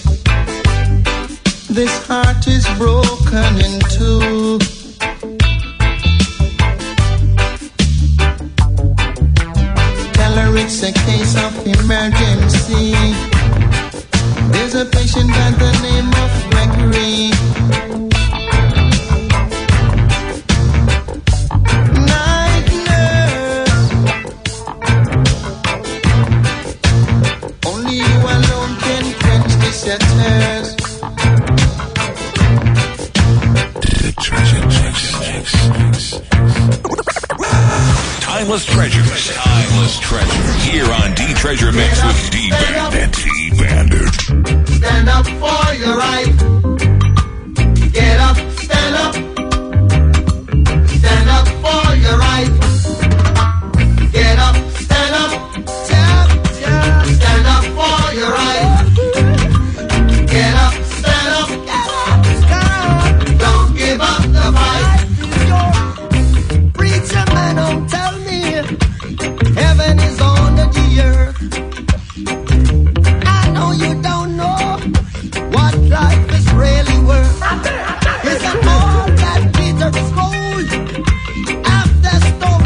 This heart is broken in two. Tell her it's a case of emergency. There's a patient by the name of Gregory. Night nurse, only you alone can quench the shatters. The treasure mix. Timeless treasures. Timeless treasure. Here on D Treasure Mix with D Bandit. D Bandit. Stand up for your right. Get up, stand up. Stand up for your right. Get up, stand up. Stand up for your right. Get up, stand up. Don't give up the fight. Preacher man, don't tell me heaven is under the earth. I know you don't know what life is really worth. It's an all that bitter is cold after storm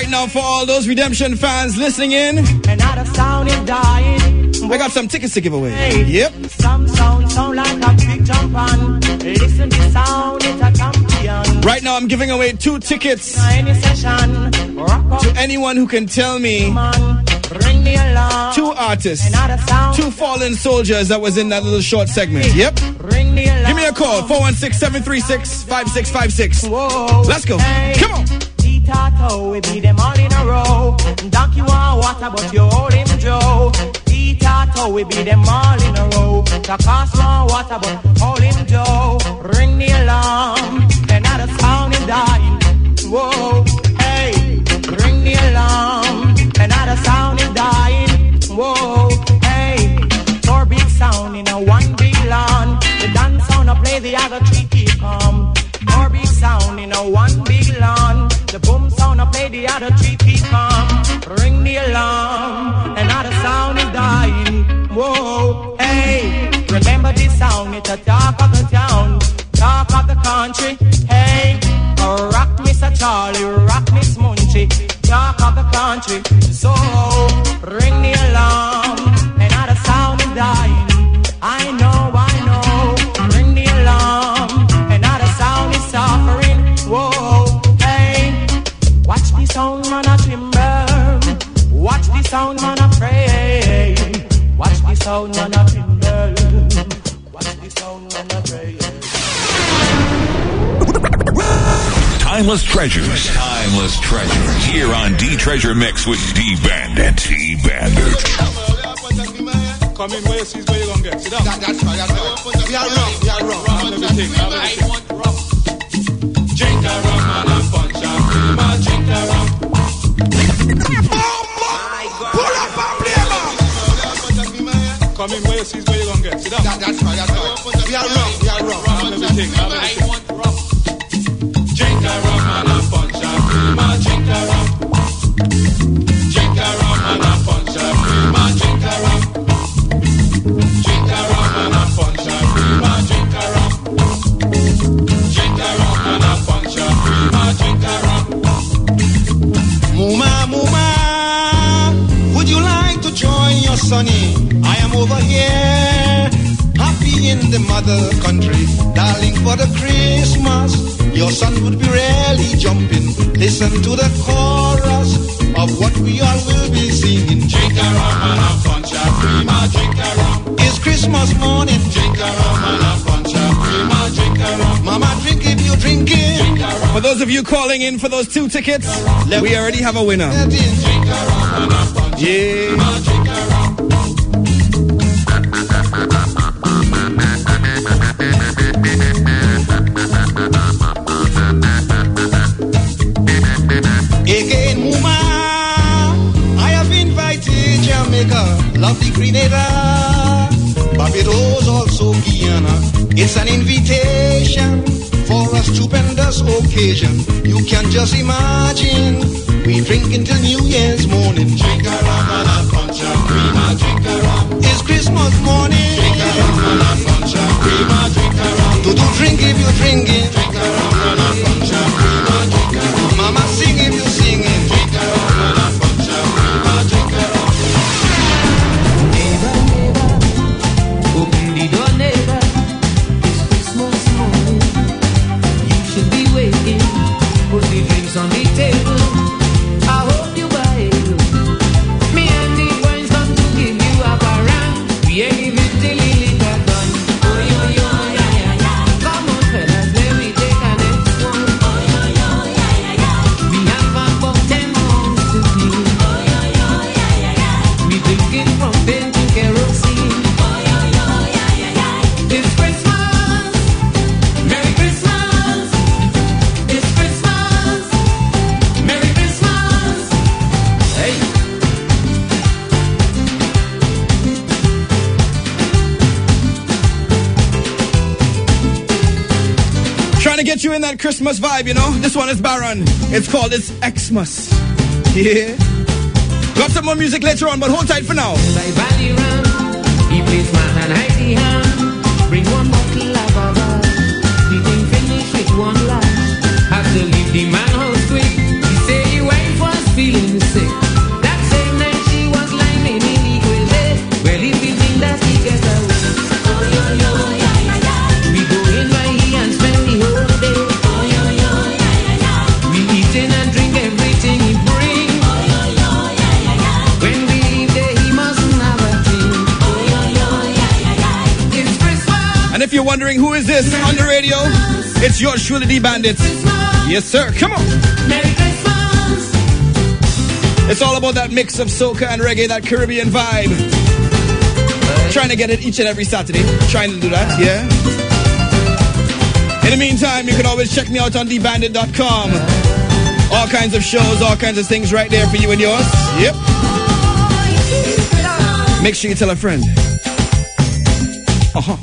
Right now, for all those Redemption fans listening in, Another sound is dying. I got some tickets to give away. Hey, Yep. Some sound like a big jump on. Listen to sound, it's a champion. Right now, I'm giving away 2 tickets Any session, rock up, to anyone who can tell me man. Ring the alarm. 2 artists, Another sound. 2 fallen soldiers that was in that little short segment. Yep. Ring the alarm. Give me a call, 416-736-5656. Whoa. Let's go. Hey. Come on. Tato, we beat them all in a row. Donkey want water, but you hold him Joe. Tato, we beat them all in a row. Takas want water, but hold him Joe. Ring the alarm, another sound is dying. Whoa, hey, ring the alarm, another sound is dying. Whoa, hey, 4 big sound in a 1 big lawn. The dance sound I play, the other 3 keep calm. 4 big sound in a 1 big lawn. The boom sound I play, the other 3 keep calm. Ring the alarm, another sound is dying. Whoa, hey, remember this sound, it's a talk of the town, talk of the country. Hey, rock Mr. Charlie, rock Miss Munchie, talk of the country. So, ring the alarm, another sound is dying. I know, ring the alarm, another sound is suffering. Whoa, hey, watch the sound man a timber, watch the sound man a pray, watch the sound man a timber, watch the sound man a pray. Timeless treasures. Timeless treasures. Here on D-Treasure Mix with D-Bandit. D-Bandit. Come in, where you see where you gonna get. Sit down. That's right. We are wrong. Everything. I want rum. Drink a rum and a punch and cream. Drink a rum. Pull up and play, man. Come in, where you see where you gonna get. Sit down. That's right. We are wrong. Everything. I want rum. Drink a rum and a punch and cream. Drink a rum. Drink a rum and a punch and cream. Drink a rum. Drink a rum and a punch and cream. Drink a rum. Drink a rum and a punch and cream. Drink a rum. Muma, would you like to join your sonny? I am over here, happy in the mother country, darling, for the Christmas. Your son would be really jumping. Listen to the chorus of what we all will be singing. Drink a rum and a punch and cream. Drink a rum. It's Christmas morning. Drink a rum and a punch and cream. Drink a rum. Mama, drink if you drink it. For those of you calling in for those 2 tickets, we already have a winner. Yeah. Again, Muma, I have invited Jamaica, lovely Grenada, Barbados, also Guyana. It's an invitation for a stupendous occasion. You can just imagine, we drink until New Year's morning. Drink a rum and a punch and cream. Drink a rum. It's Christmas morning. Drink a rum and a punch and cream. Drink a rum. Do drink if you drink it. Drink a rum and a punch and cream. Drink a rum. Mama, sing if you sing it. Drink a rum and a punch and cream. Drink a rum. Neighbor, open the door, neighbor. It's Christmas morning. You should be waiting. Put the drinks on the table. I hope you buy it. Me and the boys come to give you a parang. We ain't give it till it got done. Oh, yo, yo, yeah, yeah, yeah. Come on, fellas, let me take a next one. Oh, yo, yo, yeah, yeah, yeah. We have about 10 months to clean. Oh, yo, yo, yeah, yeah, yeah. We drinking from paint to kerosene. Oh, yo, yo, yeah, yeah, yeah. It's Christmas. Merry Christmas. It's Christmas. Merry Christmas. Hey. Trying to get you in that Christmas vibe, you know. This one is Baron. It's called It's Xmas. Yeah. Got some more music later on, but hold tight for now. By Bally Ram, he plays my hand, hide the hand. Bring one bottle of baba. The thing finish with one lash. Have to leave the man house quick. He say he wife was you're wondering who is this on the radio, it's your truly D Bandit. Yes, sir. Come on. It's all about that mix of soca and reggae, that Caribbean vibe. Trying to get it each and every Saturday. Trying to do that, yeah. In the meantime, you can always check me out on dbandit.com. All kinds of shows, all kinds of things right there for you and yours. Yep. Make sure you tell a friend. Uh-huh.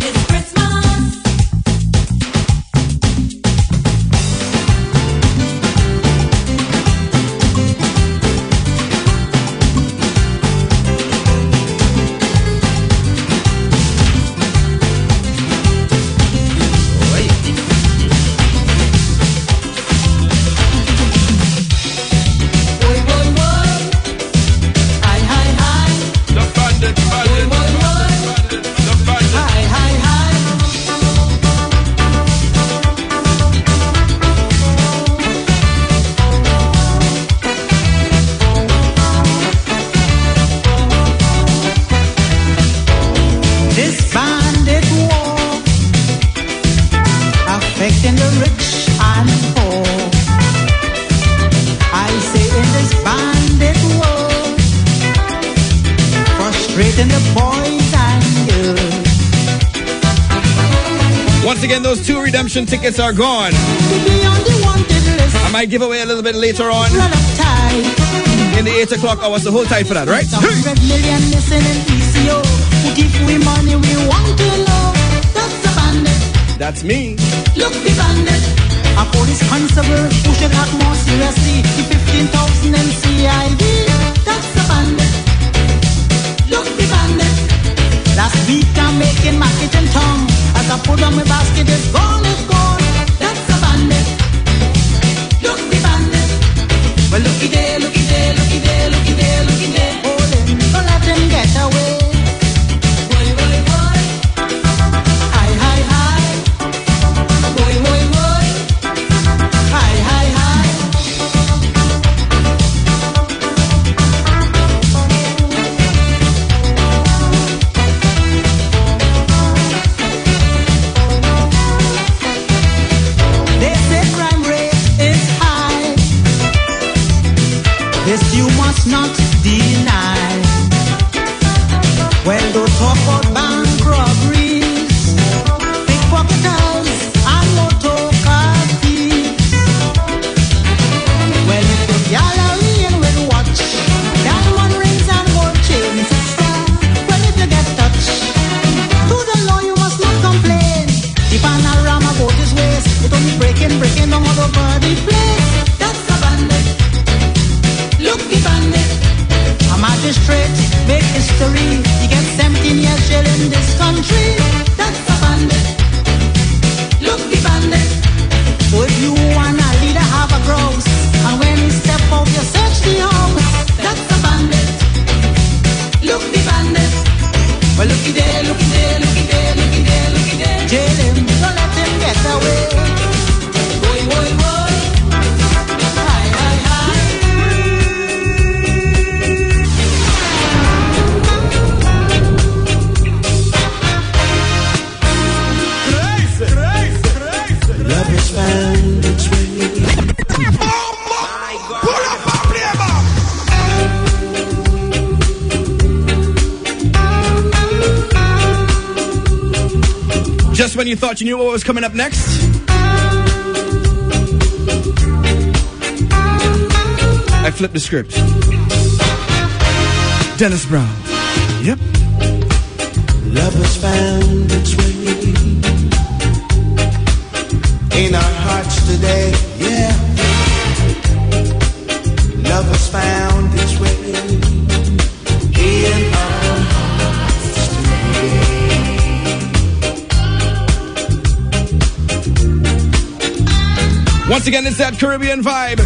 Those 2 redemption tickets are gone. I might give away a little bit later on in the 8 o'clock hour, so hold tight for that, right? 100 million listening ECO. Who give we money we want to know. That's the bandit. That's me. Look the bandit. A police constable who should act more seriously. The 15,000 NCID. That's the bandit. Look the bandit. Last week I'm making market in town. As I put on my basket, it's gone, it's gone. That's a bandit. Look the bandit. Well, looky there, looky there, looky there, looky there, looky there. Hold him, don't let him get away. Boy, boy, boy. Hi, hi, hi. Boy, boy, boy. Hi, hi, hi. You must not deny. Well, don't talk about bank robberies, pickpocketers, and motor thieves. Well, if the gallery and with watch, diamond rings and gold chains, well, if you get touched, to the law you must not complain. The panorama boat is waste, it only breaking down all over the place. That's a bandit. Look the bandit. A magistrate make history. He gets 17 years jail in this country. That's a bandit. Look the bandit. So if you wanna leader have a grouse, and when he step out you search the house. That's a bandit. Look the bandit. Well, looky there, looky there, looky there, looky there, looky there. Jail him, don't let him get away. Boy, boy, boy. Hi, hi, hi. Love is found its way. Just when you thought you knew what was coming up next, I flipped the script. Dennis Brown. Yep. Love has found its way in our hearts today, yeah. Love has found its way in our hearts today. Once again, it's that Caribbean vibe.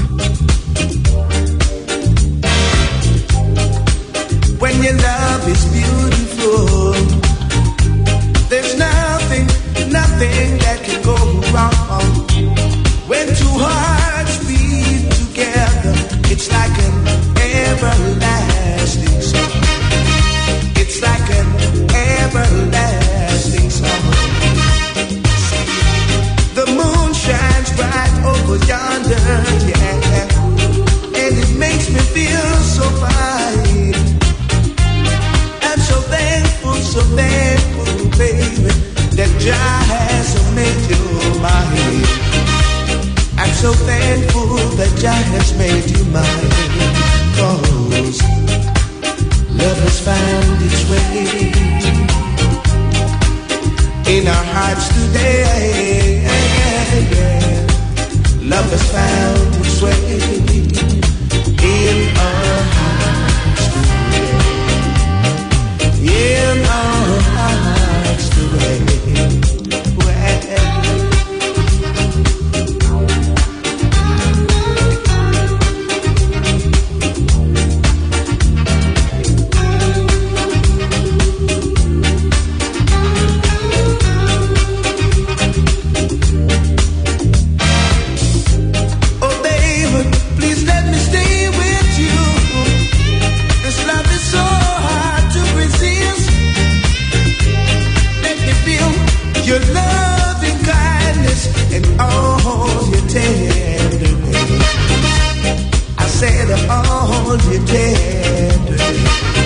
When your love is beautiful, there's nothing that can go wrong. When two hearts beat together, it's like an everlasting song. It's like an everlasting song. laughter, yeah, and it makes me feel so fine. I'm so thankful, baby, that Jah has made you mine. I'm so thankful that Jah has made you mine. 'Cause love has found its way in our hearts today. Love has found its way in our hearts today. In our hearts today. Your loving kindness and all your tenderness. I said all your tenderness.